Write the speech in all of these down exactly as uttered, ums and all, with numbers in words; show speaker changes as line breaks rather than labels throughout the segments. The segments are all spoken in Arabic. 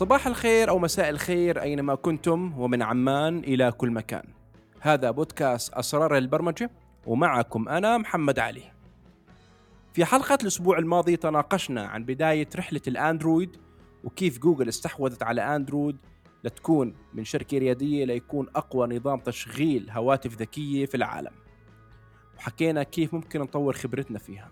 صباح الخير أو مساء الخير أينما كنتم ومن عمان إلى كل مكان. هذا بودكاست أسرار البرمجة ومعكم أنا محمد علي. في حلقة الأسبوع الماضي تناقشنا عن بداية رحلة الأندرويد وكيف جوجل استحوذت على أندرويد لتكون من شركة ريادية ليكون أقوى نظام تشغيل هواتف ذكية في العالم، وحكينا كيف ممكن نطور خبرتنا فيها.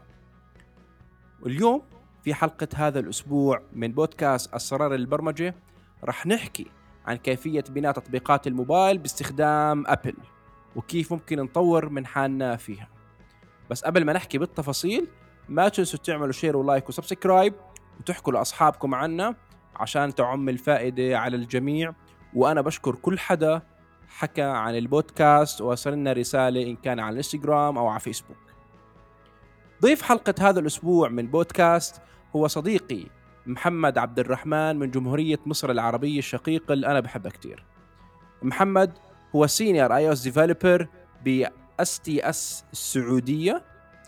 واليوم في حلقة هذا الأسبوع من بودكاست أسرار البرمجة رح نحكي عن كيفية بناء تطبيقات الموبايل باستخدام أبل وكيف ممكن نطور من حالنا فيها. بس قبل ما نحكي بالتفاصيل ما تنسوا تعملوا شير ولايك وسبسكرايب وتحكوا لأصحابكم عنا عشان تعم الفائدة على الجميع. وأنا بشكر كل حدا حكى عن البودكاست ووصلنا رسالة إن كان على الانستغرام أو على فيسبوك. ضيف حلقة هذا الأسبوع من بودكاست هو صديقي محمد عبد الرحمن من جمهورية مصر العربية الشقيقة اللي أنا بحبها كتير. محمد هو سينيور آي أو إس ديفلوبر ب إس تي إس السعودية.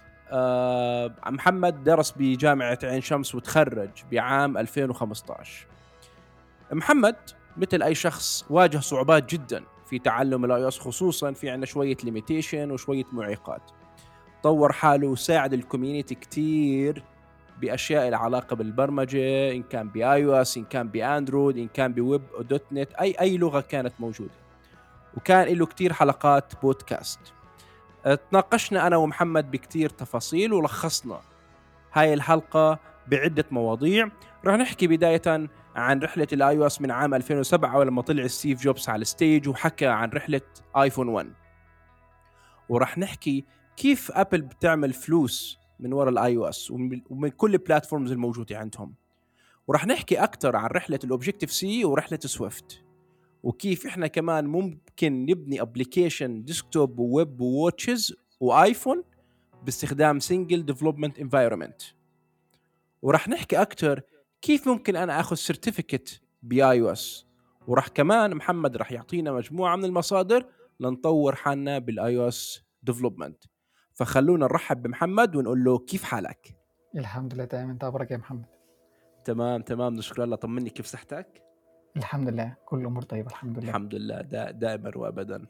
أه محمد درس بجامعة عين شمس وتخرج بعام ألفين وخمسة عشر. محمد مثل أي شخص واجه صعوبات جدا في تعلم الآي أو إس، خصوصا في عنا شوية ليميتيشن وشوية معيقات. طور حاله وساعد الكوميونيتي كتير بأشياء العلاقة بالبرمجة، إن كان بآي أو إس، إن كان بأندرويد، إن كان بويب أو دوت نت، أي أي لغة كانت موجودة. وكان له كتير حلقات بودكاست. تناقشنا أنا ومحمد بكتير تفاصيل ولخصنا هاي الحلقة بعدة مواضيع. رح نحكي بداية عن رحلة الآي أو إس من عام ألفين وسبعة ولما طلع ستيف جوبز على الستيج وحكى عن رحلة آيفون واحد. ورح نحكي كيف أبل بتعمل فلوس من وراء الاي او اس ومن كل البلاتفورمز الموجودة عندهم. ورح نحكي أكتر عن رحلة الأوبجيكتيف سي ورحلة سويفت، وكيف إحنا كمان ممكن نبني أبليكيشن ديسكتوب وويب وواتشز وآيفون باستخدام سينجل ديفلوبمنت انفايرمنت. ورح نحكي أكتر كيف ممكن أنا أخذ سيرتيفيكت باي او اس. ورح كمان محمد رح يعطينا مجموعة من المصادر لنطور حالنا بالاي او اس ديفلوبمنت. فخلونا نرحب بمحمد ونقول له كيف حالك؟
الحمد لله تمام. انت اخبارك يا محمد؟
تمام تمام نشكر الله. طمني كيف صحتك؟
الحمد لله كل الامور طيبه الحمد لله.
الحمد لله دا دائما وابدا.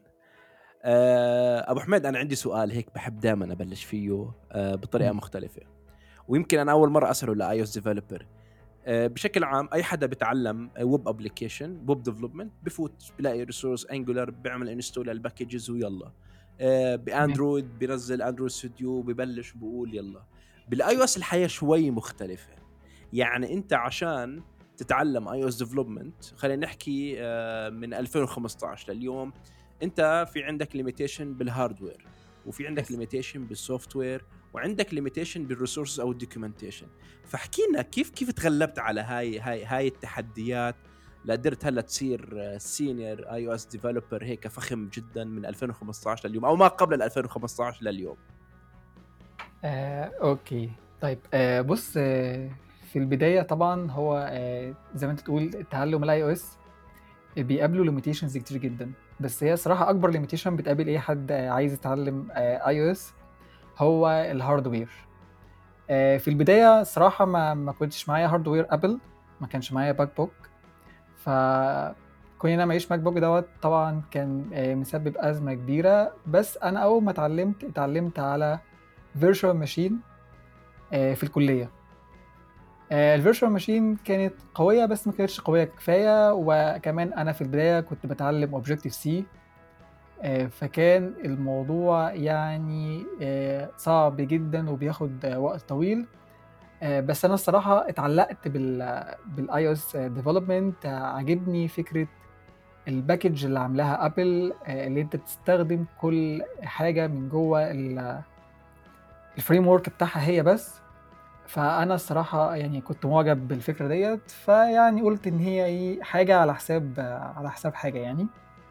أه ابو حميد انا عندي سؤال هيك بحب دائما ابلش فيه أه بطريقه
م.
مختلفه، ويمكن انا اول مره اساله لاي او اس ديفلوبر. أه بشكل عام اي حدا بيتعلم ويب ابلكيشن ويب ديفلوبمنت بفوت بلاقي ريسورس انجولار بيعمل انستول للباكجز ويلا. أه باندرويد بينزل اندرويد ستوديو ببلش بقول يلا. بالاي او اس الحياه شوي مختلفه. يعني انت عشان تتعلم اي او اس ديفلوبمنت خلينا نحكي أه من ألفين وخمسة عشر لليوم، انت في عندك ليميتيشن بالهاردوير وفي عندك ليميتيشن بالسوفت وير وعندك ليميتيشن بالريسورسز او الدوكيومنتيشن. فاحكي لنا كيف كيف تغلبت على هاي هاي هاي التحديات لقدرت هلا تصير سينيور اي او اس ديفلوبر هيك فخم جدا من ألفين وخمسة عشر لليوم او ما قبل ألفين وخمسة عشر لليوم.
آه، اوكي طيب. آه، بص، آه، في البدايه طبعا هو آه، زي ما انت تقول تعلم الاي او اس بيقابله ليميتيشنز كتير جدا، بس هي صراحه اكبر ليميتيشن بتقابل اي حد آه، عايز يتعلم اي او اس هو الهاردوير. آه، في البدايه صراحه ما ما كنتش معايا هاردوير ابل، ما كانش معايا باك بوك، ف كوني انا معيش ماك بوك دوت طبعا كان آه، مسبب ازمه كبيره. بس انا اول ما اتعلمت اتعلمت على فيرتشوال ماشين في الكليه. الفيرتشوال ماشين كانت قويه بس ما كانتش قويه كفايه، وكمان انا في البدايه كنت بتعلم اوبجكتيف سي، فكان الموضوع يعني آه، صعب جدا وبياخد آه، وقت طويل. آه، بس انا الصراحه اتعلقت بال بالاي او اس ديفلوبمنت. عجبني فكره الباكج اللي عاملاها ابل، آه، اللي انت بتستخدم كل حاجه من جوه الفريم ورك بتاعها هي بس. فانا الصراحه يعني كنت معجب بالفكره ديت، فيعني قلت ان هي ايه حاجه على حساب آه، على حساب حاجه يعني.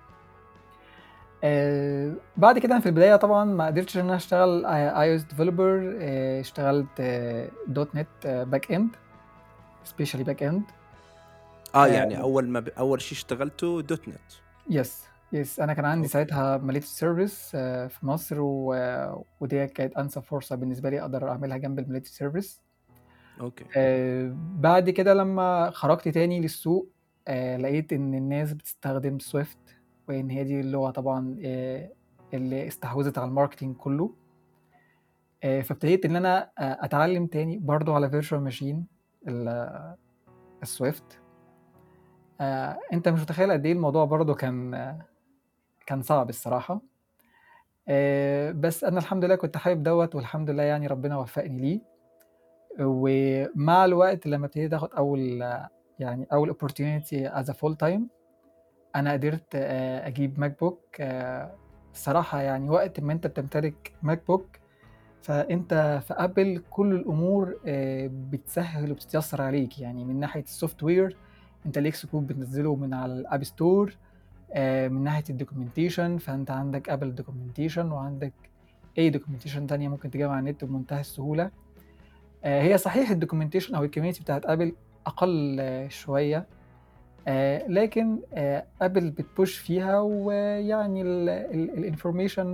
آه بعد كده أنا في البدايه طبعا ما قدرتش ان انا اشتغل اي او اس ديفلوبر. اشتغلت آه دوت نت باك اند، سبيشالي باك اند.
اه يعني اول ما ب... اول شيء اشتغلته دوت نت.
يس يس انا كان عندي
أوكي.
ساعتها مليت سيرفيس آه في مصر، و... ودي كانت انسب فرصه بالنسبه لي اقدر اعملها جنب المليت سيرفيس.
اوكي.
آه بعد كده لما خرجت تاني للسوق آه لقيت إن الناس بتستخدم سويفت، وإن هي دي اللغة طبعا آه اللي استحوذت على الماركتينج كله. آه فابتديت إن أنا آه أتعلم تاني برضو على فيرتشوال ماشين السويفت. آه أنت مش متخيل قد إيه الموضوع برضو كان آه كان صعب الصراحة. آه بس أنا الحمد لله كنت حابب دوت، والحمد لله يعني ربنا وفقني ليه. ومع الوقت لما ابتديت اخد اول يعني اول opportunity as a full time، انا قدرت آه، اجيب ماك بوك. آه، الصراحة يعني وقت ما انت بتمتلك ماك بوك، فانت في ابل كل الامور آه، بتسهل وبتتيسر عليك، يعني من ناحية السوفت وير انت ليك سكوب بتنزله من على الاب ستور. آه، من ناحية الدوكيومنتيشن فانت عندك ابل دوكيومنتيشن، وعندك اي دوكيومنتيشن تانية ممكن تجيبها على النت بمنتهى السهولة. آه، هي صحيح الدوكيومنتيشن او الكوميونتي بتاعت ابل اقل آه، شويه، آه، لكن آه، ابل بتبوش فيها، ويعني الانفورميشن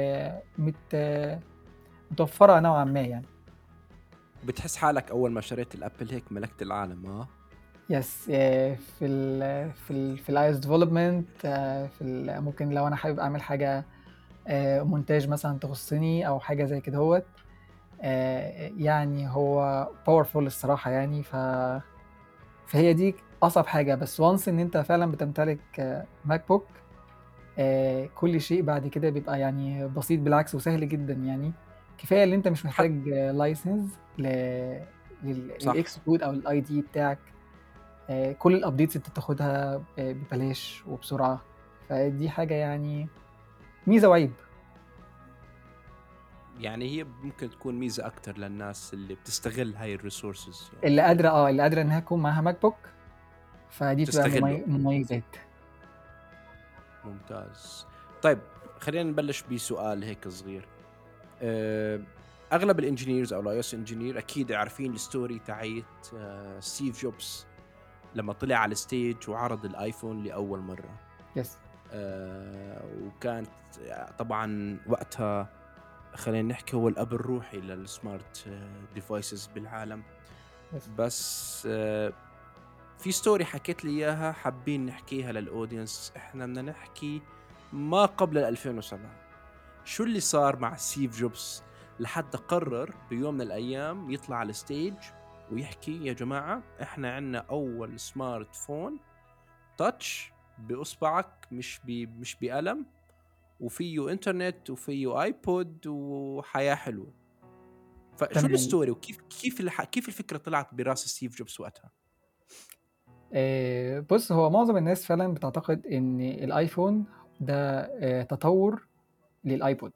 متوفره نوعا ما يعني.
بتحس حالك اول ما شريت الابل هيك ملكت العالم؟ اه
يس. آه، في ال في ال في الاي اس ديفلوبمنت، في ال- ممكن لو انا حابب اعمل حاجه آه، مونتاج مثلا تخصني او حاجه زي كده هوت. آه، يعني هو باورفول الصراحه يعني. ف فهي دي اصعب حاجه، بس وانس ان انت فعلا بتمتلك آه، ماك بوك، آه، كل شيء بعد كده بيبقى يعني بسيط بالعكس وسهل جدا يعني. كفايه ان انت مش
حتى
محتاج لايسنس
صح.
للاكس كود او الاي دي بتاعك. آه، كل الابديتس انت بتاخدها آه، ببلاش وبسرعه. فدي حاجه يعني ميزه وعيب.
يعني هي ممكن تكون ميزة أكتر للناس اللي بتستغل هاي الريسورسز، يعني
اللي قادره اه اللي قادره انها تكون معاها ماك بوك، فدي بتبقى
تستغله.
ممي- مميزات.
ممتاز. طيب خلينا نبلش بسؤال هيك صغير. أه، أغلب الانجينيرز أو الاي اس انجينير أكيد عارفين الستوري تاعت أه ستيف جوبز لما طلع على الستيج وعرض الآيفون لأول مرة.
يس.
أه، وكانت طبعا وقتها خلينا نحكي هو الأب الروحي للسمارت ديفايسز بالعالم.
يس.
بس أه في ستوري حكيت لي إياها حابين نحكيها للأودينس. إحنا بدنا نحكي ما قبل ألفين وسبعة. شو اللي صار مع ستيف جوبز لحد قرر بيوم من الأيام يطلع على الستيج ويحكي يا جماعة إحنا عنا أول سمارت فون تاتش بأصبعك، مش بي مش بقلم، وفيه إنترنت وفيه آيبود وحياة حلوة. فشو
تمام.
الستوري وكيف كيف الح... كيف الفكرة طلعت براس ستيف جوبز وقتها؟
آه، بص، هو معظم الناس فعلا بتعتقد ان الايفون ده آه، تطور للايبود.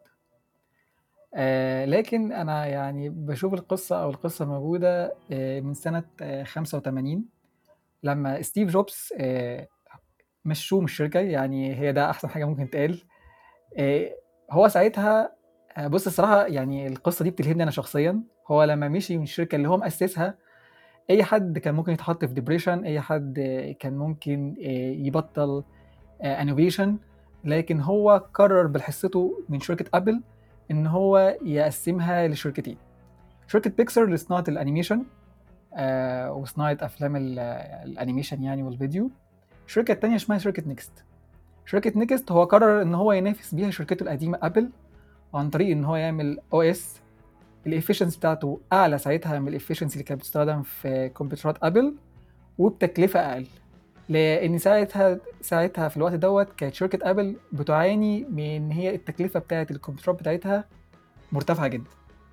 آه، لكن انا يعني بشوف القصه او القصه موجوده آه، من سنه آه، خمسة وثمانين، لما ستيف جوبز آه، مشوه من الشركه. يعني هي ده احسن حاجه ممكن تقال. آه، هو ساعتها آه، بص الصراحه يعني القصه دي بتلهمني انا شخصيا. هو لما مشي من الشركه اللي هو مؤسسها، اي حد كان ممكن يتحط في ديبريشن، اي حد آه، كان ممكن آه، يبطل انوفيشن. لكن هو قرر بالحصته من شركه ابل ان هو يقسمها لشركتين: شركه بيكسر لصناعه الانيميشن آه وصناعه افلام ال- الانيميشن يعني والفيديو. الشركه التانية اسمها شركه نيكست. شركه نيكست هو قرر ان هو ينافس بيها شركته القديمه ابل عن طريق ان هو يعمل او اس الافشنسي بتاعته اعلى ساعتها من الافشنسي اللي كانت بتستخدم في كمبيوترات ابل، وبتكلفه اقل. لان ساعتها ساعتها في الوقت دوت كانت شركه ابل بتعاني من ان هي التكلفه بتاعه الكمبيوترات بتاعتها مرتفعه جدا.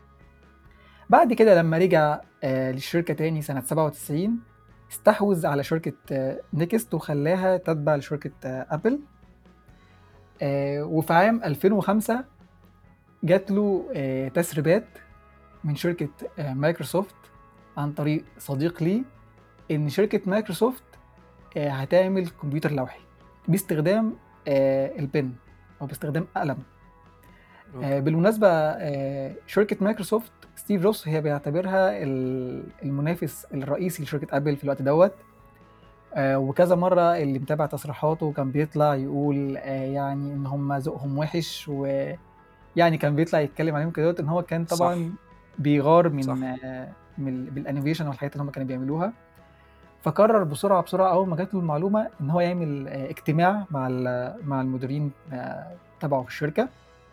بعد كده لما رجع آه للشركه تاني سنه سبعة وتسعين، استحوذ على شركه آه نيكست وخلاها تتبع لشركه آه ابل. آه وفي عام ألفين وخمسة جات له آه تسريبات من شركه آه مايكروسوفت عن طريق صديق لي ان شركه مايكروسوفت آه، هتعمل كمبيوتر لوحي باستخدام آه، البن او باستخدام قلم. آه،
أوكي.
بالمناسبه آه، شركه مايكروسوفت ستيف جوبز هي بيعتبرها ال- المنافس الرئيسي لشركه ابل في الوقت دوت. آه، وكذا مره اللي متابع تصريحاته كان بيطلع يقول آه، يعني ان هم ذوقهم وحش، ويعني كان بيطلع يتكلم عليهم كده ان هو كان
صح
طبعا بيغار من
صح.
آه، من بالانوفيشن والحاجات اللي هم كانوا بيعملوها. فقرر بسرعه بسرعه اول ما جات له المعلومه ان هو يعمل آه، اجتماع مع مع المديرين آه، تبعه في الشركه،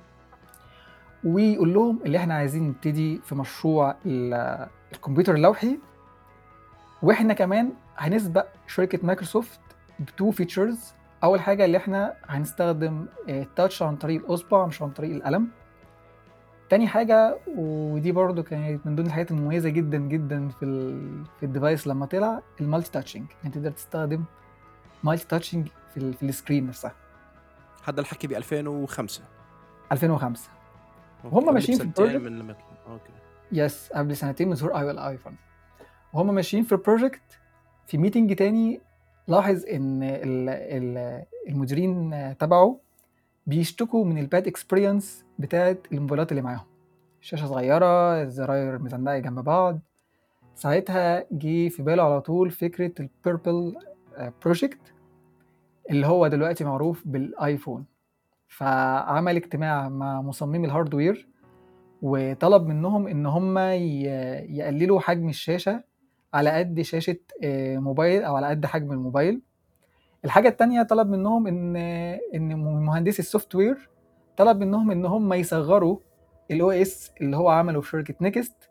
ويقول لهم اللي احنا عايزين نبتدي في مشروع الكمبيوتر اللوحي، واحنا كمان هنسبق شركه مايكروسوفت بتو فيتشرز. اول حاجه اللي احنا هنستخدم التاتش عن طريق الاصبع مش عن طريق القلم. تاني حاجه، ودي برضو كانت من ضمن الحاجات المميزه جدا جدا في ال في الديفايس لما طلع، المالتي تاتشنج، يعني تقدر تستخدم مالتي تاتشنج في, ال في السكرين نفسها.
هذا الحكي ب ألفين وخمسة
ألفين وخمسة.
أوكي.
وهم
قبل
ماشيين في
بسنتين
البروجكت.
من لما اوكي
يس، قبل سنتين من ظهور ايفون. وهم ماشيين في البروجكت، في ميتنج تاني لاحظ ان ال ال المديرين تبعه بيشتكوا من الباد اكسبيرينس بتاعت الموبايلات اللي معاهم، شاشة صغيرة، الزراير مزنقة جنب بعض. ساعتها جه في باله على طول فكرة البيربل بروجكت اللي هو دلوقتي معروف بالايفون. فعمل اجتماع مع مصممي الهاردوير وطلب منهم ان هم يقللوا حجم الشاشة على قد شاشة آه، موبايل او على قد حجم الموبايل. الحاجة التانية طلب منهم ان ان مهندسي السوفت وير طلب منهم ان هم يصغروا الاو اس اللي هو عمله في شركة نيكست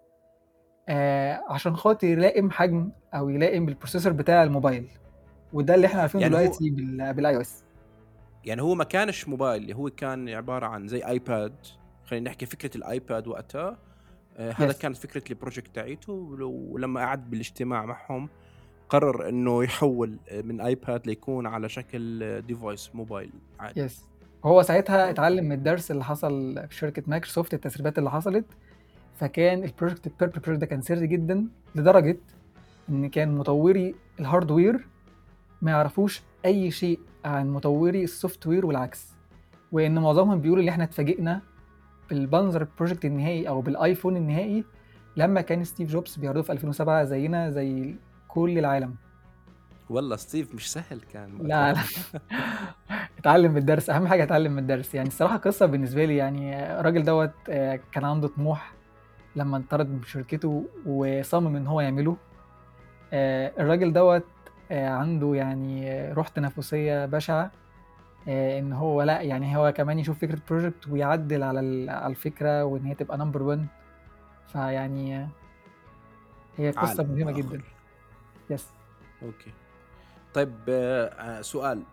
آه عشان خاطر يلائم حجم او يلائم بالبروسيسور بتاع الموبايل، وده اللي احنا عارفينه
يعني هو
دلوقتي بالاي او اس.
يعني هو ما كانش موبايل، هو كان عبارة عن زي ايباد. خلينا نحكي فكرة الايباد وقتها. آه هذا
يس،
كانت فكرة البروجكت تاعيته، ولما قعد بالاجتماع معهم قرر انه يحول من ايباد ليكون على شكل ديفايس موبايل عادي.
يس. هو ساعتها
أوكي.
اتعلم من الدرس اللي حصل في شركة مايكروسوفت، التسريبات اللي حصلت. فكان البروجكت البيربل بروجكت ده كان سري جدا لدرجة ان كان مطوري الهاردوير ما يعرفوش اي شيء عن مطوري السوفت وير والعكس، وان معظمهم بيقولوا ان احنا اتفاجئنا بالبنظر البروجكت النهائي او بالايفون النهائي لما كان ستيف جوبز بيعرضه في ألفين وسبعة زينا زي كل العالم.
والله ستيف مش سهل كان
لا لا.
وقتها.
اتعلم من الدرس، اهم حاجه اتعلم من الدرس. يعني الصراحه قصه بالنسبه لي، يعني الراجل دوت آه، كان عنده طموح لما انطرد من شركته وصمم ان هو يعمله. آه، الراجل دوت آه، عنده يعني آه، روح تنافسيه بشعه. آه، ان هو لا يعني هو كمان يشوف فكره بروجكت ويعدل على ال- على الفكره وان هي تبقى نمبر واحد. فيعني آه، هي قصه
عالم
مهمه جدا.
اخر.
يس.
اوكي. طيب آه، آه، سؤال.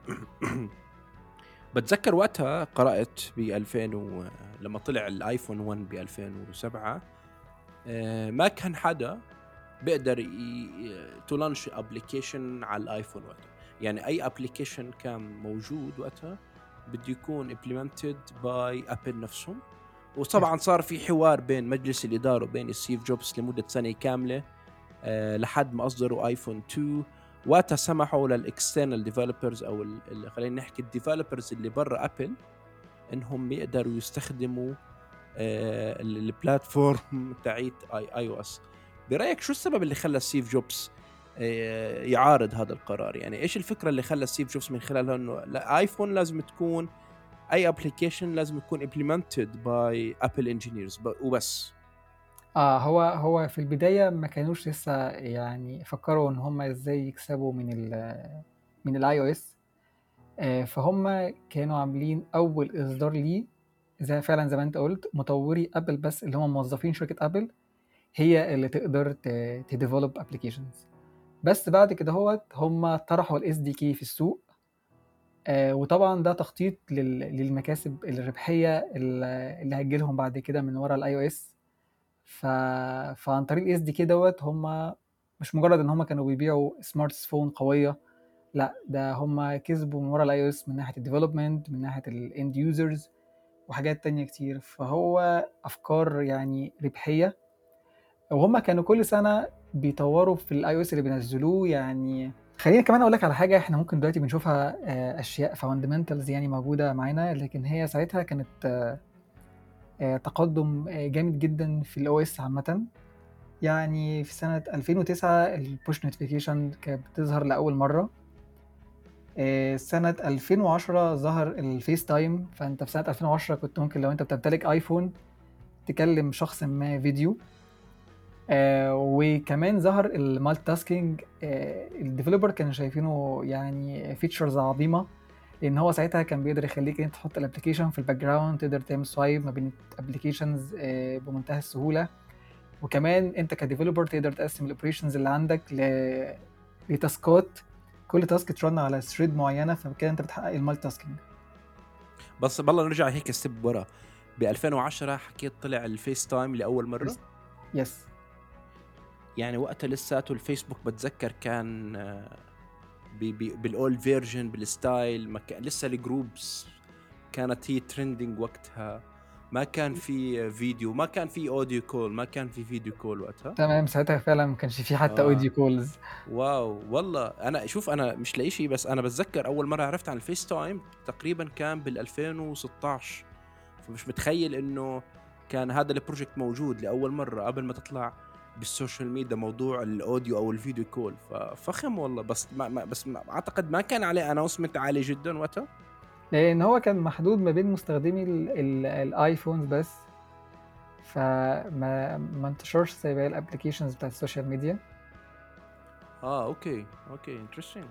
بتذكر وقتها قرأت ب ألفين و... لما طلع الايفون واحد ب ألفين وسبعة، آه، ما كان حدا بيقدر تلانش ابلكيشن على الايفون وقتها. يعني اي ابلكيشن كان موجود وقتها بده يكون implemented باي ابل نفسهم. وطبعا صار في حوار بين مجلس الاداره وبين ستيف جوبز لمده سنه كامله أه لحد ما اصدروا ايفون اثنين. وقتها سمحوا للاكسترنال ديفلوبرز او ال- خلينا نحكي الديفلوبرز اللي برا ابل انهم يقدروا يستخدموا أه البلاتفورم تاعيت اي اي او اس. برايك شو السبب اللي خلى ستيف جوبز أه يعارض هذا القرار؟ يعني ايش الفكره اللي خلى ستيف جوبز من خلالها انه الايفون لازم تكون اي ابلكيشن لازم يكون implemented by Apple engineers وبس؟
اه هو هو في البدايه ما كانوش لسه يعني فكروا ان هم ازاي يكسبوا من ال من الاي او اس. فهم كانوا عاملين اول اصدار ليه زي فعلا زي ما انت قلت مطوري ابل بس، اللي هم موظفين شركه ابل هي اللي تقدر تديفلوب ابلكيشنز. بس بعد كده هوت هم طرحوا الاس دي كي في السوق. آه، وطبعا ده تخطيط لل- للمكاسب الربحيه اللي اللي هتجيلهم بعد كده من ورا الاي او اس. ف... فعن طريق الاس دي كي دوت هم مش مجرد ان هم كانوا بيبيعوا سمارت فون قويه، لا ده هم كسبوا من ورا الاي او اس من ناحيه الديفلوبمنت، من ناحيه الاند يوزرز، وحاجات تانية كتير. فهو افكار يعني ربحيه، وهم كانوا كل سنه بيطوروا في الاي او اس اللي بينزلوه. يعني خليني كمان اقول لك على حاجه احنا ممكن دلوقتي بنشوفها آه، اشياء فاندمنتالز يعني موجوده معانا، لكن هي ساعتها كانت آه، آه، تقدم آه، جامد جدا في الاو اس عامه. يعني في سنة ألفين وتسعة البوش نوتيفيكيشن كانت بتظهر لأول مرة. آه، سنة ألفين وعشرة ظهر الفيس تايم، فأنت في سنة ألفين وعشرة كنت ممكن لو أنت بتمتلك آيفون تكلم شخص ما فيديو. آه وكمان ظهر المالتي تاسكينج. آه الديفلوبر كانوا شايفينه يعني فيتشرز عظيمه، لان هو ساعتها كان بيقدر يخليك انت تحط الابلكيشن في الباك جراوند، تقدر تعمل سوايب ما بين الابلكيشنز آه بمنتهى السهوله. وكمان انت كديفلوبر تقدر تقسم الاوبريشنز اللي عندك ل لتاسكات، كل تاسك ترن على ثريد معينه، فكده انت بتحقق المالتي تاسكينج.
بس بالله نرجع هيك ستيب ورا. ب ألفين وعشرة حكيت طلع الفيس تايم لاول مره.
يس.
يعني وقتها لساته الفيسبوك بتذكر كان بي بي بالاولد فيرجن بالستايل، ما كان لسه الجروبس كانت هي ترندنج وقتها، ما كان في فيديو، ما كان في اوديو كول، ما كان في فيديو كول وقتها.
تمام، ساعتها فعلا ما كانش فيه حتى
آه.
اوديو كولز.
واو والله. انا شوف انا مش لاقي شيء، بس انا بتذكر اول مره عرفت عن الفيس تايم تقريبا كان بال ألفين وستاشر، فمش متخيل انه كان هذا البروجكت موجود لاول مره قبل ما تطلع بالسوشيال ميديا موضوع الاوديو او الفيديو كول. ففخم والله. بس ما ما بس ما اعتقد ما كان عليه اناونسمنت عالي جدا وقتها،
لان هو كان محدود ما بين مستخدمي الايفونز بس، فما ما انتشرش زي باقي الابلكيشنز بتاعت السوشيال ميديا.
اه اوكي اوكي انترستينج.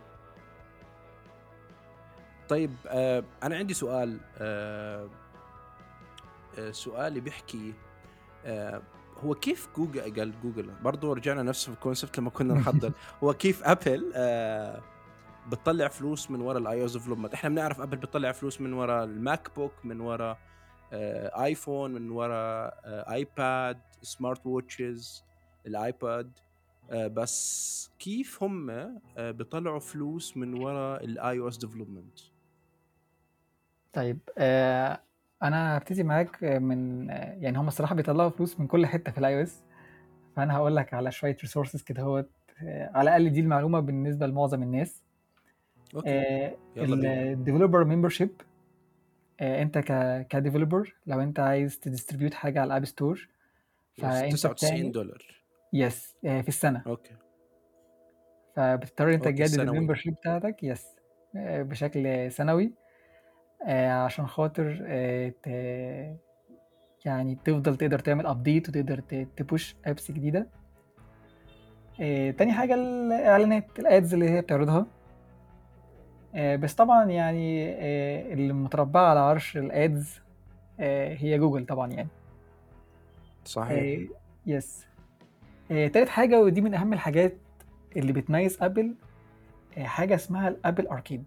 طيب آه انا عندي سؤال. آه آه سؤالي بيحكي آه هو كيف جوجل قال جوجل برضو رجعنا نفس الكونسبت لما كنا نحضر. هو كيف ابل آه بتطلع فلوس من وراء الاي او اس ديفلوبمنت؟ احنا بنعرف ابل بتطلع فلوس من وراء الماك بوك، من وراء آه ايفون، من وراء آه ايباد، سمارت ووتشز، الايباد. آه بس كيف هم آه بيطلعوا فلوس من وراء الاي او اس ديفلوبمنت؟
طيب آه انا هبتدي معاك من آه يعني هم الصراحه بيطلعوا فلوس من كل حته في الاي او اس. فانا هقول لك على شويه ريسورسز كده، هو آه على الاقل دي المعلومه بالنسبه لمعظم الناس.
اوكي
آه
يلا بينا.
الديفلوبر ممبرشيب. انت ك كديفلوبر لو انت عايز تديستريبيوت حاجه على الاب ستور،
يس
فانت
تسعة وتسعين
بتعمل
دولار.
يس آه في السنه.
اوكي
فبتضطر انت
اوكي
تجدد
سنوي.
الممبرشيب بتاعتك يس آه بشكل سنوي، آه عشان خاطر آه ت... يعني تفضل تقدر تعمل ابديت وتقدر تبوش ابس جديده. آه تاني حاجه الاعلانات، الادز اللي هي بتعرضها. آه بس طبعا يعني آه اللي متربعه على عرش الادز آه هي جوجل طبعا يعني.
صحيح.
آه يس. آه تالت حاجه ودي من اهم الحاجات اللي بتميز ابل، آه حاجه اسمها الابل اركيد.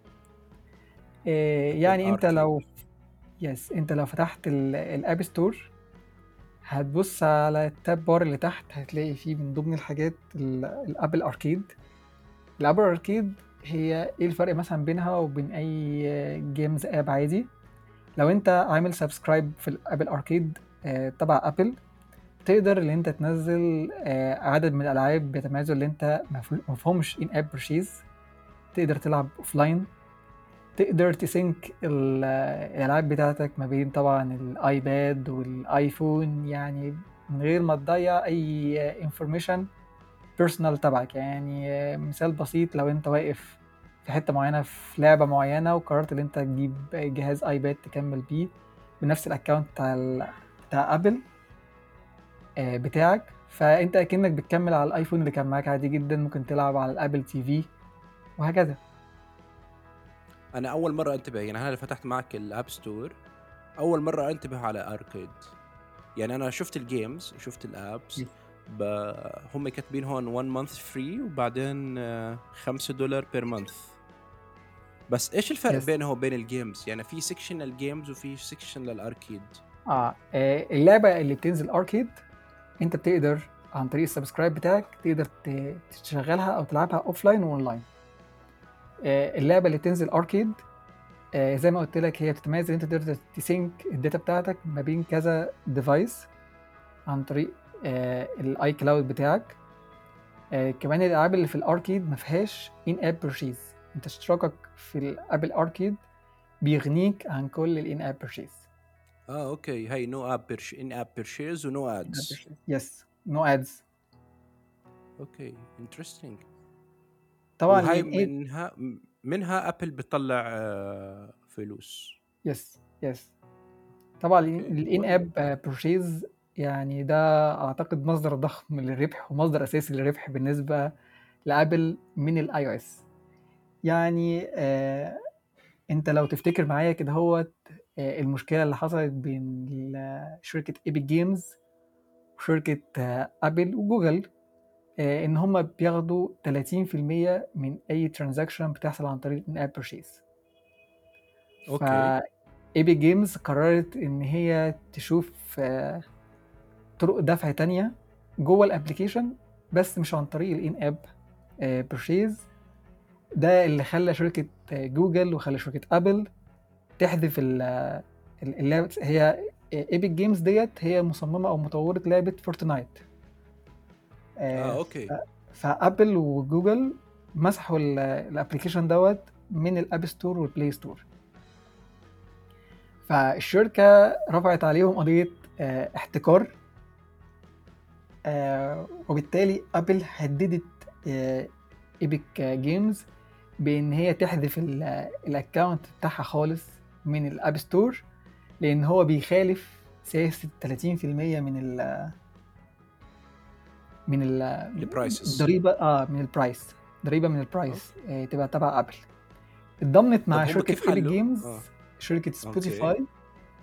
آه يعني انت
الاركيد.
لو يس انت لو فتحت الاب ستور، هتبص على التاب بار اللي تحت، هتلاقي فيه من ضمن الحاجات الابل اركيد. الابل اركيد هي ايه الفرق مثلا بينها وبين اي جيمز اب عادي؟ لو انت عامل سبسكرايب في الابل اركيد آه تبع ابل، تقدر ان انت تنزل آه عدد من الالعاب بيتميزوا اللي انت مفهومش ان اب برشيز، تقدر تلعب اوفلاين، تقدر تسync الالعاب بتاعتك ما بين طبعا الايباد والايفون، يعني من غير ما تضيع اي انفورميشن بيرسونال تبعك. يعني مثال بسيط، لو انت واقف في حته معينه في لعبه معينه وقررت ان انت تجيب جهاز ايباد تكمل بيه بنفس الاكونت بتاع ال... بتاع ابل آه، بتاعك، فانت اكنك بتكمل على الايفون اللي كان معاك عادي جدا، ممكن تلعب على الابل تي في وهكذا.
انا اول مره انتبه، يعني انا اللي فتحت معك الاب ستور اول مره انتبه على اركيد. يعني انا شفت الجيمز، شفت الابس، ب... هم كاتبين هون one month free وبعدين خمسة دولار بير مانث. بس ايش الفرق
يس.
بينه وبين الجيمز؟ يعني في سيكشن للجيمز وفي سيكشن للاركيد.
اه آه، اللعبه اللي بتنزل اركيد انت بتقدر عن طريق السبسكرايب بتاعك تقدر ت- تشغلها او تلعبها اوفلاين واونلاين. آه، اللعبه اللي بتنزل اركيد آه، زي ما قلت لك هي بتتميز ان انت تقدر تسينك الداتا بتاعتك ما بين كذا ديفايس عن طريق الاي كلاود بتاعك. آه، كمان الالعاب اللي في الاركيد ما فيهاش ان اب بيرشيز، انت اشتراكك في الابل اركيد بيغنيك عن كل الان اب بيرشيز.
اه اوكي، هاي نو اب بيرش ان اب بيرشيز ونو ادز.
يس، نو ادز.
اوكي انترستينج.
طبعا
وهاي
الان ايه.
منها منها ابل بتطلع آه فلوس.
يس يس. طبعا
اوكي
الان
والله.
اب بيرشيز يعني ده اعتقد مصدر ضخم للربح ومصدر اساسي للربح بالنسبه لابل من الاي او اس. يعني آه انت لو تفتكر معايا كده هو آه المشكله اللي حصلت بين ال- شركه ايبك جيمز وشركه آه ابل وجوجل، آه ان هم بياخدوا ثلاثين في المية من اي ترانزاكشن بتحصل عن طريق ان اب بيرشيز.
اوكي.
فايبك جيمز قررت ان هي تشوف آه طرق دفع تانية جوه الابليكيشن، بس مش عن طريق الان اب بيرشيز. ده اللي خلى شركة آه، جوجل وخلى شركة ابل تحذف ال- ال- اللعبة. هي ايبك جيمز ديت هي مصممة او مطورة لعبة فورتنايت.
اه
آه،
اوكي.
ف- فابل وجوجل مسحوا الابليكيشن دوت من الاب ستور والبلاي ستور. فالشركة رفعت عليهم قضية آه، احتكار، آه، وبالتالي ابل هددت ايبك جيمز بان هي تحذف الاكونت بتاعها خالص من الاب ستور، لان هو بيخالف سياسه ثلاثين في المية من ال من ال
البرايسز.
الضريبه اه من البرايس، ضريبه من البرايس آه تبقى تبع ابل. اتضمت مع
طب هم
شركه
كيف
ايبك
حلوا؟
جيمز
اه
شركه
اوكي.
سبوتيفاي.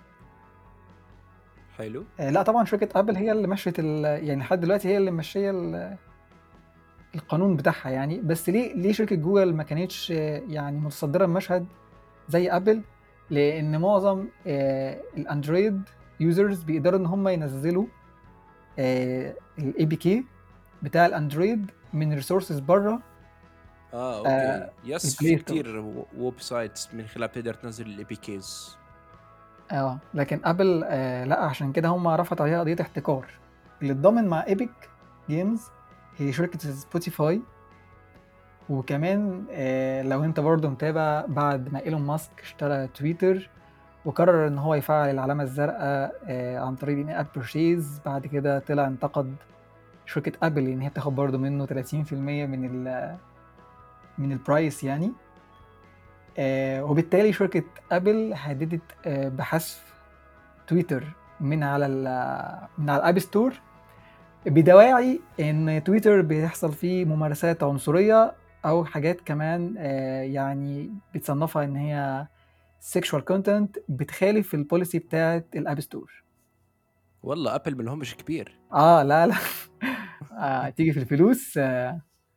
حلو.
آه لا طبعا شركه ابل هي اللي مشت ال- يعني لحد دلوقتي هي اللي ماشيه ال- القانون بتاعها يعني. بس ليه ليه شركه جوجل ما كانتش آه، يعني متصدره المشهد زي ابل؟ لان معظم آه، الاندرويد يوزرز بيقدروا ان هم ينزلوا الاي بي كي بتاع الاندرويد من ريسورسز بره
اه اوكي، يس، في
البلاي ستور.
كتير ويب سايتس من خلال بتقدر تنزل الاي بي كيز.
اه لكن ابل آه لا، عشان كده هم رفعت عليها قضيه احتكار. اللي اتضمن مع ايبك جيمز هي شركه سبوتيفاي. وكمان آه لو انت برضو متابع، بعد ما ايلون ماسك اشترى تويتر وقرر ان هو يفعل العلامه الزرقاء آه عن طريق ان اب بيرشيز، بعد كده طلع انتقد شركه ابل ان هي بتاخد برضو منه ثلاثين في المية من ال من البرايس يعني. آه وبالتالي شركه ابل هددت آه بحذف تويتر من على ال- من على الاب ستور، بدواعي ان تويتر بيحصل فيه ممارسات عنصريه او حاجات كمان آه يعني بتصنفها ان هي sexual content بتخالف البوليسي بتاعت الاب ستور.
والله ابل من لهمش كبير.
اه لا لا آه تيجي في الفلوس آه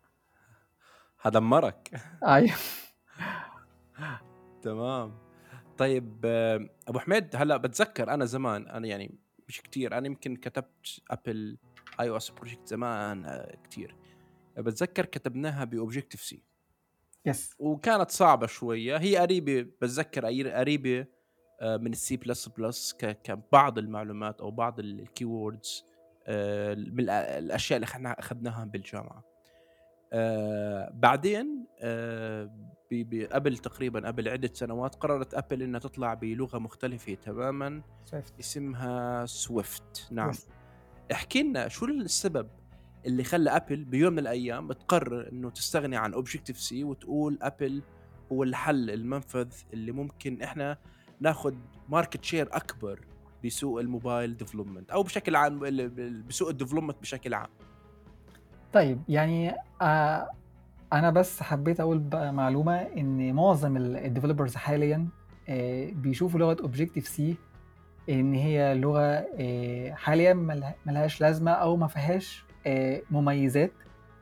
هدمرك.
ايوه.
تمام. طيب آه، ابو حميد، هلا بتذكر انا زمان، انا يعني مش كتير، انا يمكن كتبت ابل اي او اس بروجكت زمان آه، كتير. بتذكر كتبناها باوبجكتيف سي،
يس.
وكانت صعبه شويه، هي قريبه، بتذكر أي- قريبه آه، من السي بلس بلس كبعض المعلومات او بعض الكيوردز من الأ- الاشياء اللي احنا اخذناها بالجامعه. آه بعدين آه بي- بي- قبل تقريبا قبل عدة سنوات قررت أبل إنها تطلع بلغة مختلفة تماما
سويفت.
اسمها سويفت. نعم.
يس.
احكي لنا شو السبب اللي خلى أبل بيوم من الأيام تقرر إنه تستغني عن أوبجكتيف سي وتقول أبل هو الحل المنفذ اللي ممكن إحنا ناخد ماركت شير أكبر بسوق الموبايل ديفلوبمنت أو بشكل عام ال- ال- بسوق الديفلوبمنت بشكل عام.
طيب يعني آه انا بس حبيت اقول بقى معلومه ان معظم الديفلوبرز حاليا آه بيشوفوا لغه اوبجكتيف سي ان هي لغه آه حاليا ملها- ملهاش لازمه او ما فيهاش آه مميزات.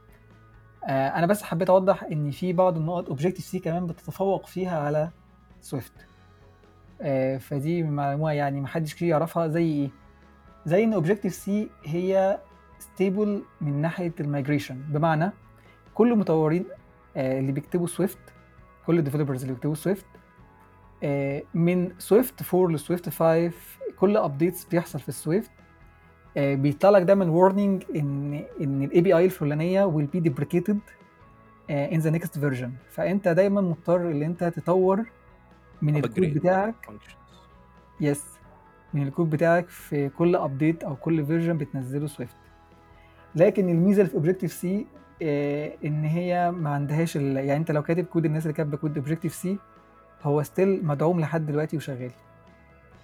آه انا بس حبيت اوضح ان في بعض النقط اوبجكتيف سي كمان بتتفوق فيها على سويفت. آه فدي معلومه يعني محدش كتير يعرفها. زي ايه؟ زي ان اوبجكتيف سي هي ستيبل من ناحيه المايجريشن، بمعنى كل المطورين آه اللي بيكتبوا سويفت، كل الديفلوبرز اللي بيكتبوا سويفت آه من سويفت أربعة لسويفت خمسة، كل ابديتس بيحصل في السويفت آه بيطلع لك دايما وورنينج ان ان الاي بي اي الفلانيه will be deprecated uh, in the next version. فانت دايما مضطر ان انت تطور من الكود
upgrade
بتاعك.
functions.
يس، من الكود بتاعك في كل ابديت او كل فيرجن بتنزله سويفت. لكن الميزه اللي في اوبجكتيف سي ان هي ما عندهاش ال... يعني انت لو كاتب كود، الناس اللي كاتبه كود اوبجكتيف سي هو ستيل مدعوم لحد دلوقتي وشغال.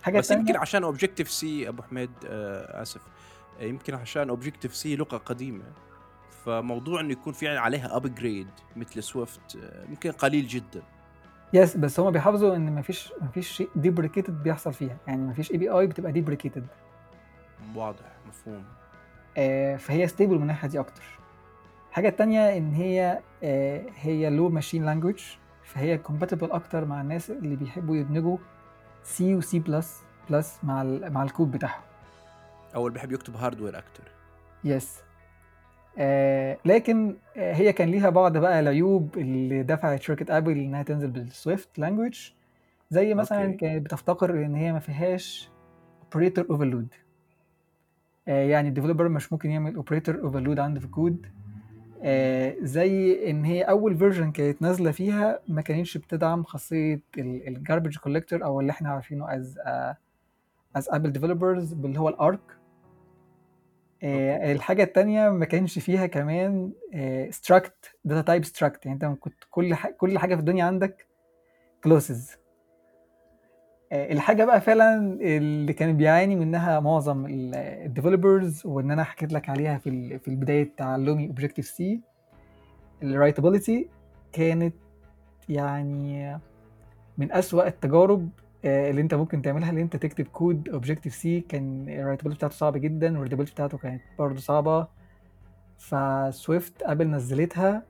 حاجه
بس يمكن
تانية
عشان اوبجكتيف سي ابو حميد، آه اسف، آه، يمكن عشان اوبجكتيف سي لغه قديمه، فموضوع انه يكون في عليها ابجريد مثل سويفت آه، يمكن قليل جدا.
يس، بس هما بيحافظوا ان مفيش مفيش شيء ديبريكيتد بيحصل فيها، يعني مفيش اي بي اي بتبقى ديبريكيتد.
واضح، مفهوم.
آه فهي ستيبل من الناحيه دي اكتر. الحاجه التانية ان هي آه هي لو ماشين لانجويج، فهي كومباتبل اكتر مع الناس اللي بيحبوا يدمجوا سي وسي بلس بلس مع ال مع الكود بتاعهم.
او اللي بحب يكتب هاردوير اكتر.
يس. آه لكن آه هي كان ليها بعض بقى العيوب اللي دفعت شركة ابل انها تنزل بالسويفت لانجويج، زي مثلا
اوكي.
كانت بتفتقر ان هي ما فيهاش اوبريتور اوفرلود. آه يعني الديفلوبر مش ممكن يعمل اوبريتور اوفرلود عنده في الكود. آه زي ان هي اول فيرجن كانت نازله فيها ما كانتش بتدعم خاصيه الجاربج كولكتور، او اللي احنا عارفينه از از ابل ديفلوبرز اللي هو الارك.
اوكي.
آه، الحاجة التانية ما كانش فيها كمان ستراكت داتا تايب ستراكت، يعني انت كنت كل ح... كل حاجة في الدنيا عندك كلوسز. الحاجة بقى فعلا اللي كان بيعاني منها معظم الديفلوبرز، وان انا حكيت لك عليها في ال... في البداية تعلمي اوبجكتيف سي، الرايتابيليتي كانت يعني من أسوأ التجارب آه، اللي انت ممكن تعملها. اللي انت تكتب كود اوبجكتيف سي كان الرايتابيلتي بتاعته صعبة جدا، والريدابيلتي بتاعته كانت برضه صعبة. فسويفت ابل نزلتها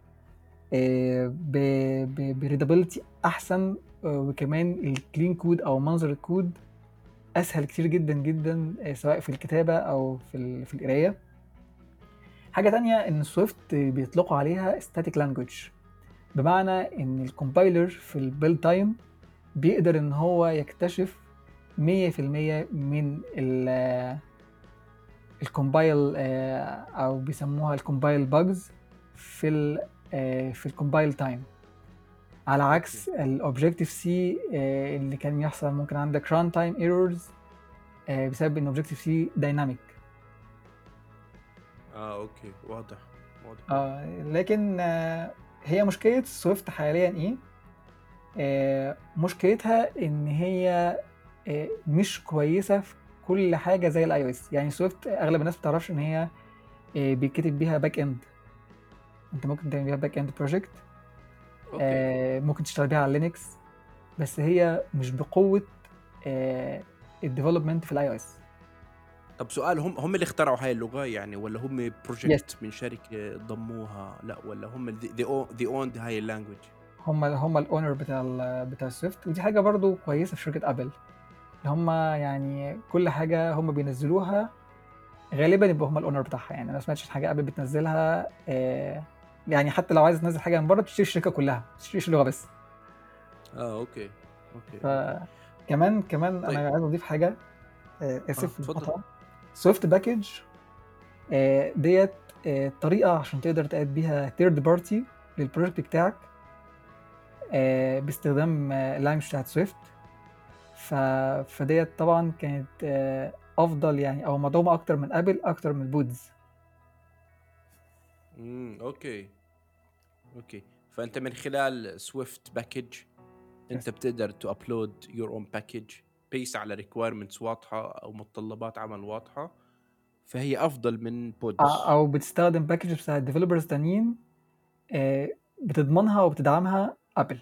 بريدابيلتي احسن، آه، وكمان الكلين كود او منظر الكود اسهل كتير جدا جدا، آه، سواء في الكتابه او في ال- في القرايه. حاجه تانية ان سويفت بيطلقوا عليها static language، بمعنى ان الكومبايلر في البيلد تايم بيقدر ان هو يكتشف مية في المية من الكومبايل، او بيسموها الكومبايل باجز في ال آه، في الكومبايل تايم، على عكس
اوكي.
الاوبجكتيف سي اللي كان يحصل ممكن عندك ران تايم ايرورز بسبب ان اوبجكتيف سي دايناميك.
اه اوكي، واضح واضح.
آه لكن آه هي مشكله سويفت حاليا ايه؟ آه مشكلتها ان هي آه مش كويسه في كل حاجه زي الاي او اس. يعني سويفت اغلب الناس ما بتعرفش ان هي آه بيتكتب بيها باك اند. انت ممكن تعمل بيها باك اند بروجكت،
اوكي.
آه ممكن تشتغل بيها على لينكس، بس هي مش بقوه آه الديفلوبمنت في الاي او اس.
طب سؤال، هم هم اللي اخترعوا هاي اللغة يعني، ولا هم
يس،
بروجكت من شركة ضموها؟ لا، ولا هم ذي ذي اون هاي اللانجوج؟
هم هم الاونر بتاع ال بتاع السويفت. ودي حاجه برضو كويسه في شركه ابل، اللي هم يعني كل حاجه هم بينزلوها غالبا يبقى هم الاونر بتاعها. يعني انا ما سمعتش حاجه ابل بتنزلها آه يعني حتى لو عايز تنزل حاجه من بره بتشتري الشركه كلها، ما بتشتريش اللغه بس.
اه اوكي اوكي اوكي.
فكمان كمان
طيب.
انا عايز اضيف حاجه، آه
اه
اسف
تفضل.
المقاطعه. سويفت باكج آه ديت آه طريقه عشان تقدر تقاد بيها ثيرد بارتي للبروجكت بتاعك آه باستخدام آه اللانجوج بتاعت سويفت. ف... فديت طبعا كانت آه، افضل يعني، او مدعومه اكتر من ابل، اكتر من بودز.
امم اوكي اوكي. فانت من خلال سويفت باكج انت
يس.
بتقدر تو ابلود يور اون باكج بيس على ريكويرمنتس واضحه او متطلبات عمل واضحه، فهي افضل من
ع-
بودز.
او بتستخدم باكج بتاع ديفلوبرز تانيين آه، بتضمنها وبتدعمها ابل.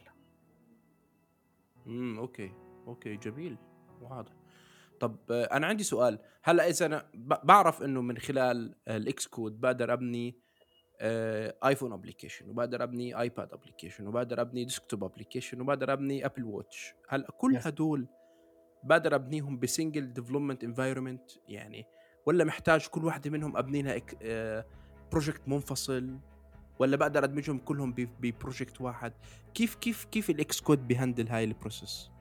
امم اوكي اوكي، جميل، واضح. طب آه، انا عندي سؤال. هلا اذا انا ب- بعرف انه من خلال الاكس كود بقدر ابني آه، ايفون ابلكيشن، وبقدر ابني ايباد ابلكيشن، وبقدر ابني ديسكتوب ابلكيشن، وبقدر ابني ابل واتش، هلا كل
يس.
هدول بقدر ابنيهم بسنجل ديفلوبمنت انفايرمنت يعني، ولا محتاج كل واحدة منهم ابني لها بروجكت منفصل، ولا بقدر ادمجهم كلهم ببروجكت واحد؟ كيف كيف كيف الاكس كود بيهندل هاي البروسيس؟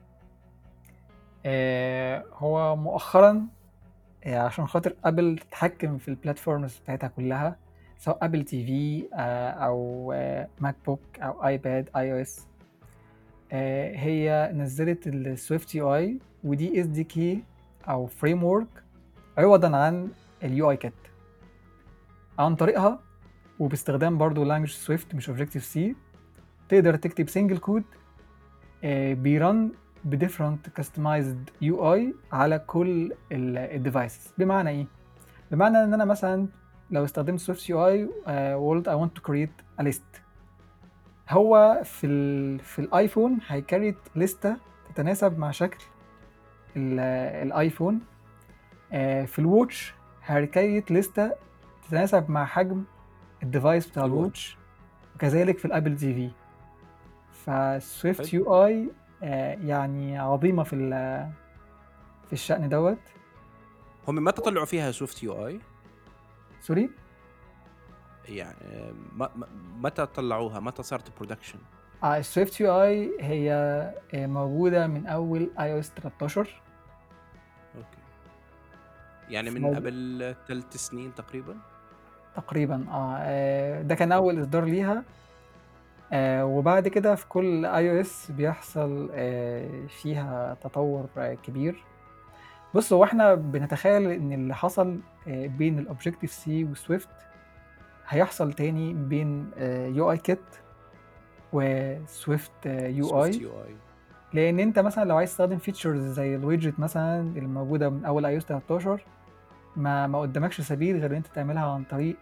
آه، هو مؤخرا آه، عشان خاطر ابل تتحكم في البلاتفورمز بتاعتها كلها، سواء ابل تي في آه، او آه، ماك بوك او ايباد اي او اس، آه، هي نزلت السويفت يو اي، ودي اس دي كي او فريم ورك عوضا عن اليو اي كيت. عن طريقها وباستخدام برضو لانجوج سويفت مش اوبجكتيف سي، تقدر تكتب سنجل كود بيرن بديفرنت كاستمايزد يو اي على كل الديفايسز. بمعنى ايه؟ بمعنى ان انا مثلا لو استخدمت سويفت يو اي وقلت I want to create a list، هو في ال في الايفون هيكريت لستة تتناسب مع شكل ال- الايفون. آه، في الواتش هيكريت لستة تتناسب مع حجم الديفايس بتاع
الواتش.
الواتش، وكذلك في الابل تي في. فسويفت
حلو.
يو اي يعني عظيمة في ال- في الشأن دوت.
هم متى طلعوا فيها سويفت يو اي؟
سوري.
يعني آه، ما- ما- متى طلعوها؟ متى صارت برودكشن؟
آه، السويفت يو اي هي آه، موجودة من اول اي او اس تلتاشر.
اوكي، يعني من
فمو-
قبل ثلاث سنين تقريبا.
تقريبا اه آه، ده كان اول اصدار ليها. آه، وبعد كده في كل اي او اس بيحصل آه، فيها تطور آه، كبير. بص، هو احنا بنتخيل ان اللي حصل آه، بين الاوبجكتيف سي وسويفت هيحصل تاني بين يو اي كيت وسويفت يو
سويفت
اي.
يو اي.
لان انت مثلا لو عايز تستخدم فيتشرز زي الويدجت مثلا اللي موجوده من اول اي او اس تلتاشر، ما ما قدامكش سبيل غير ان انت تعملها عن طريق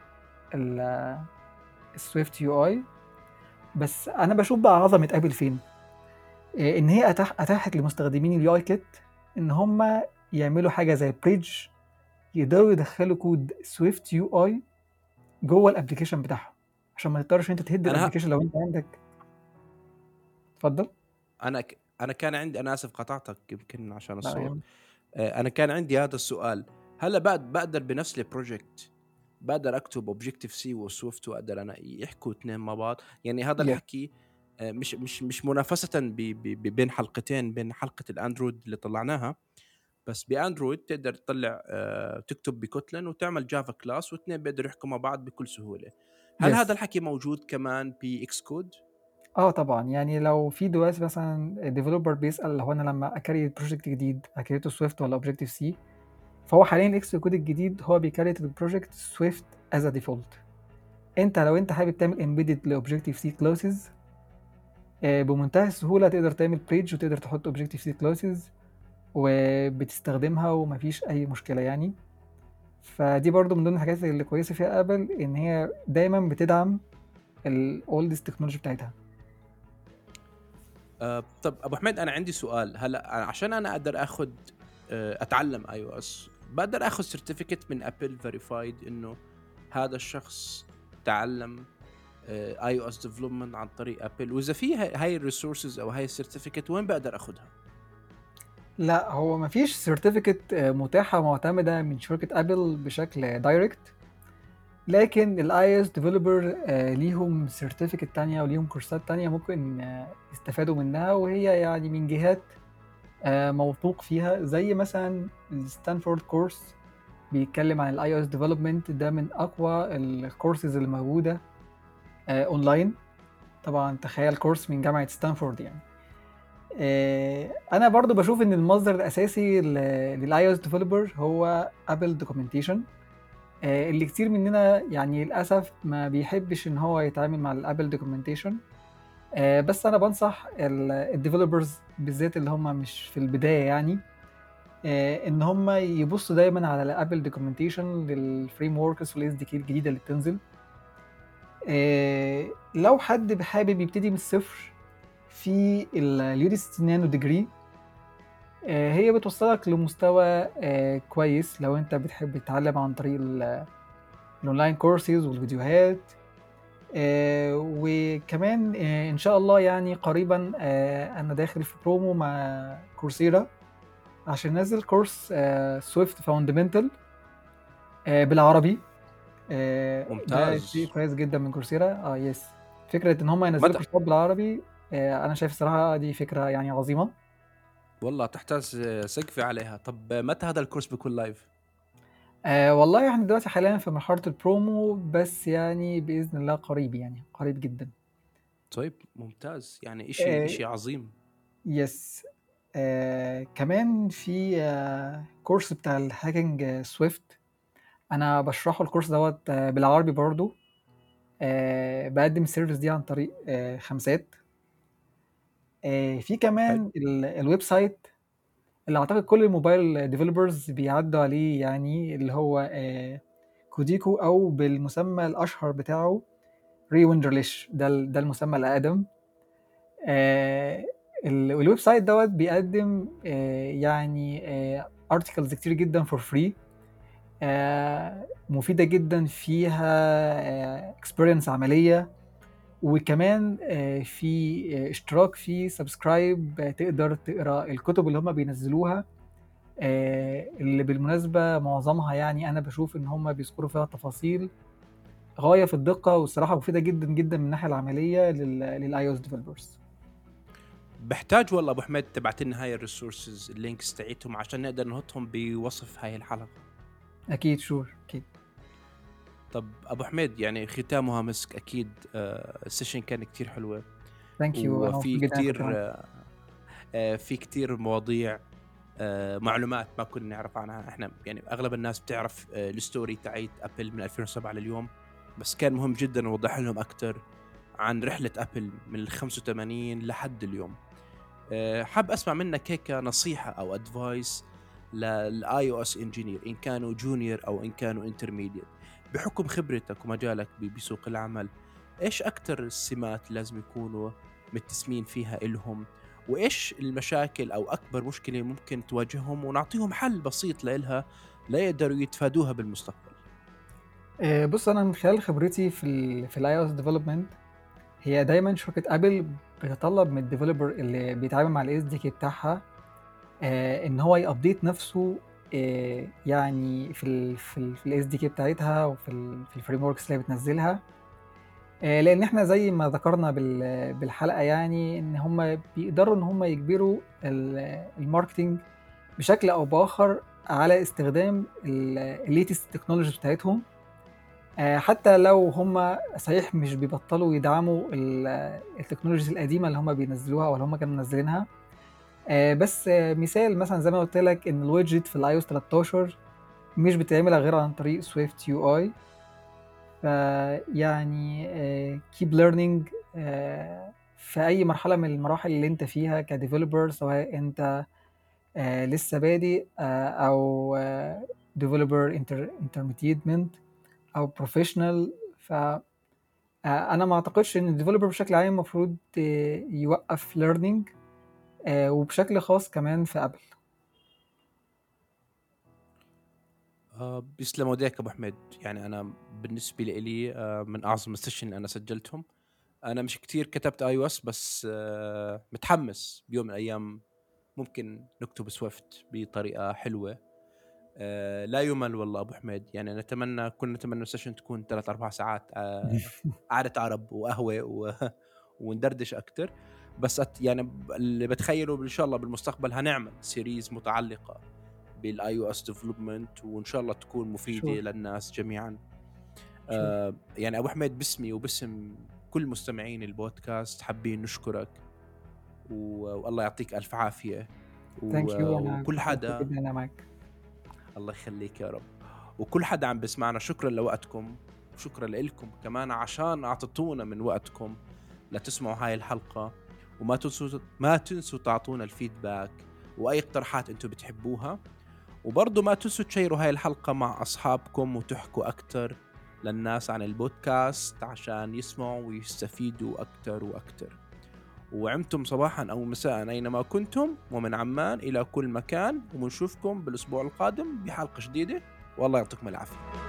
السويفت يو اي. بس انا بشوف بقى عظمه ابل فين. آه، ان هي أتاح اتاحت لمستخدمين اليو اي كيت ان هم يعملوا حاجه زي بريدج، يقدروا يدخلوا كود سويفت يو اي جوه الابلكيشن بتاعهم، عشان ما تضطرش انت تهد
انا ه...
الابلكيشن لو انت عندك. اتفضل.
انا ك... انا كان عندي، انا اسف قطعتك يمكن عشان
لا
الصوت.
يعني.
آه، انا كان عندي هذا السؤال. هلا بعد بقدر بنفس البروجكت بقدر اكتب اوبجكتيف سي وسويفت واقدر انا يحكوا اثنين مع بعض؟ يعني هذا
يس.
الحكي آه، مش مش مش منافسة ب... ب... ب- بين حلقتين، بين حلقة الاندرويد اللي طلعناها. بس باندرويد تقدر تطلع آه، تكتب بكوتلين وتعمل جافا كلاس، واثنين بيقدروا يحكوا مع بعض بكل سهولة. هل هذا
يس.
الحكي موجود كمان باكس كود؟
اه طبعا، يعني لو في دلوقتي مثلا ديفلوبر بيسأل هو انا لما اكريت بروجكت جديد اكريته سويفت ولا اوبجكتيف سي، فهو حاليا الاكس كود الجديد هو بيكريت البروجكت سويفت از ديفولت. انت لو انت حابب تعمل امبيدد لاوبجكتيف سي كلاسز، بمنتهى السهوله تقدر تعمل بريدج وتقدر تحط اوبجكتيف سي كلاسز وبتستخدمها ومفيش اي مشكله يعني. فدي برضو من ضمن الحاجات اللي كويسه فيها ابل، ان هي دايما بتدعم الاولدست تكنولوجي بتاعتها.
آه، طب ابو حميد، انا عندي سؤال. هلا أنا- عشان انا اقدر اخذ آه، اتعلم اي او اس، بقدر اخذ سيرتيفيكت من ابل فيريفايد انه هذا الشخص تعلم اي او اس ديفلوبمنت عن طريق ابل؟ واذا في هاي هاي الريسورسز او هاي السيرتيفيكت، وين بقدر اخذها؟
لا، هو مفيش سيرتيفيكت متاحة معتمدة من شركة ابل بشكل دايركت، لكن الاي اس ديفلوبر ليهم سيرتيفيكت تانية وليهم كورسات تانية ممكن آه، يستفادوا منها، وهي يعني من جهات آه، موثوق فيها، زي مثلا الستانفورد كورس بيتكلم عن الاي او اس ديفلوبمنت. ده من اقوى الكورسز اللي موجودة آه، اونلاين. طبعا تخيل كورس من جامعة ستانفورد يعني. آه، انا برضو بشوف ان المصدر الاساسي للاي او اس ديفلوبر هو ابل دوكيومنتيشن، اللي كتير مننا يعني للاسف ما بيحبش ان هو يتعامل مع الابل دوكيومنتيشن. بس انا بنصح الديفلوبرز بالذات اللي هم مش في البدايه يعني آه، ان هم يبصوا دايما على الابل دوكيومنتيشن للفريم وركس والاس دي كي الجديده اللي بتنزل. آه، لو حد حابب يبتدي من الصفر في اليوديسيتي نانو ديجري، آه، هي بتوصلك لمستوى آه، كويس لو انت بتحب تتعلم عن طريق ال- الاونلاين كورسز والفيديوهات. آه، وكمان آه، ان شاء الله يعني قريبا آه، انا داخل في برومو مع كورسيرا عشان نزل كورس سويفت فاوندمنتال بالعربي. آه، ده شيء
ممتاز.
كويس جدا من كورسيرا. اه يس. فكرة ان هم ينزلوا
متى؟
كورسات بالعربي، آه، انا شايف الصراحة دي فكرة يعني عظيمة.
والله تحتاج سقفي عليها. طب متى هذا الكورس بيكون لايف؟
آه والله احنا دلوقتي حاليا في مرحلة البرومو، بس يعني بإذن الله قريب، يعني قريب جدا.
طيب ممتاز، يعني اشي
آه
اشي عظيم.
يس. آه كمان في آه كورس بتاع الهاكينج آه سويفت، انا بشرحه الكورس دوت آه بالعربي برضو. آه بقدم السيرفيس دي عن طريق آه خمسات. آه، في
حلو.
كمان ال- الويب سايت اللي اعتقد كل الموبايل ديفلوبرز بيعدوا عليه، يعني اللي هو آه، كوديكو، او بالمسمى الاشهر بتاعه ريويندرليش. ده ال- ده المسمى الاقدم. آه، ال- والويب سايت دوت بيقدم آه، يعني ارتكلز كتير جدا فور فري، مفيدة جدا، فيها اكسبيرينس عملية، وكمان آه، في آه، اشتراك في سبسكرايب، تقدر تقرا الكتب اللي هم بينزلوها، آه، اللي بالمناسبة معظمها يعني أنا بشوف إن هم بيذكروا فيها تفاصيل غاية في الدقة، والصراحة مفيدة جدا جدا من الناحية العملية للاي او اس ديفلوبرز.
بحتاج والله ابو حميد تبعت لنا هاي الريسورسز اللينكس تاعتهم عشان نقدر نحطهم بوصف هاي الحلقه.
أكيد، شور، أكيد.
طب ابو حميد يعني ختامها مسك اكيد. آه السيشن كان كتير حلوه،
ثانك يو، أنا
وفي
مبسوط جدا إني كنت
كتير
معاك.
آه آه، في كتير مواضيع، آه معلومات ما كنا نعرف عنها. احنا يعني اغلب الناس بتعرف آه الستوري تاعت ابل من ألفين وسبعة لليوم، بس كان مهم جدا نوضح لهم اكثر عن رحله ابل من ال خمسة وثمانين لحد اليوم. آه حاب اسمع منك هيك نصيحه او ادفايس للاي او اس انجينير، ان كانوا جونيور او ان كانوا انترميديت، بحكم خبرتك ومجالك ب- بسوق العمل. ايش اكثر السمات لازم يكونوا متسمين فيها إلهم، وايش المشاكل او اكبر مشكله ممكن تواجههم، ونعطيهم حل بسيط لإلها لا يقدروا يتفادوها بالمستقبل.
آه، بص، أنا من خلال خبرتي في ال في الاي او اس ديفلوبمنت، هي دايما شركة ابل بتطلب من الديفلوبر اللي بيتعامل مع الاس دي كي بتاعها آه، ان هو يابديت نفسه، آه، يعني في ال في ال في الاس دي كي بتاعتها، وفي ال في الفريم وركس اللي هي بتنزلها. آه، لان احنا زي ما ذكرنا بال- بالحلقه، يعني ان هم بيقدروا ان هم يجبروا ال- الماركتينج بشكل او باخر على استخدام الليتست تكنولوجيز بتاعتهم. آه، حتى لو هم صحيح مش بيبطلوا يدعموا ال- التكنولوجيز القديمه اللي هم بينزلوها او اللي هم كانوا منزلينها. آه، بس آه، مثال مثلا زي ما قلت لك ان الويدجت في الاي او اس تلتاشر مش بتعمل غير عن طريق سويفت يو اي. فيعني كيب ليرنينج في اي مرحله من المراحل اللي انت فيها كديفلوبر، سواء انت آه، لسه بادئ، آه، او ديفلوبر انترميديت او بروفيشنال. ف آه، انا ما اعتقدش ان الديفلوبر بشكل عام المفروض آه، يوقف ليرنينج، وبشكل خاص كمان في ابل.
آه بيسلموا ايديك ابو حميد. يعني انا بالنسبه لي آه من اعظم السيشن اللي انا سجلتهم. انا مش كتير كتبت اي او اس، بس آه متحمس بيوم من الايام ممكن نكتب سويفت بطريقه حلوه. آه لا يمل والله ابو حميد. يعني نتمنى كنا نتمنى السيشن تكون ثلاث اربع ساعات، آه قعده عرب وقهوه و... وندردش اكتر. بس أت يعني ب- اللي بتخيله ان شاء الله بالمستقبل هنعمل سيريز متعلقه بالاي او اس ديفلوبمنت، وان شاء الله تكون مفيده
شور،
للناس جميعا.
شور.
آه يعني ابو حميد باسمي وباسم كل مستمعين البودكاست حابين نشكرك، و... والله يعطيك الف عافيه. و...
ثانك يو، انا
وكل
كنت مبسوط
حدا،
جدا ان انا معاك.
الله يخليك يا رب. وكل حدا عم بسمعنا شكرا لوقتكم، وشكرا لكم كمان عشان اعطيتونا من وقتكم لتسمعوا هاي الحلقة. وما تنسوا ما تنسوا تعطونا الفيدباك واي اقتراحات انتم بتحبوها. وبرضو ما تنسوا تشيروا هاي الحلقة مع اصحابكم وتحكوا اكتر للناس عن البودكاست عشان يسمعوا ويستفيدوا اكتر واكتر. وعمتم صباحا أو مساء أينما كنتم، ومن عمان إلى كل مكان، ومنشوفكم بالأسبوع القادم بحلقة جديدة، والله يعطيكم العافية.